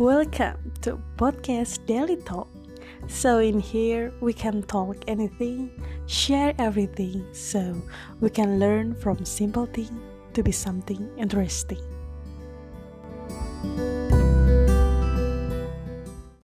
Welcome to podcast Daily Talk. So in here we can talk anything, share everything, so we can learn from simple thing to be something interesting.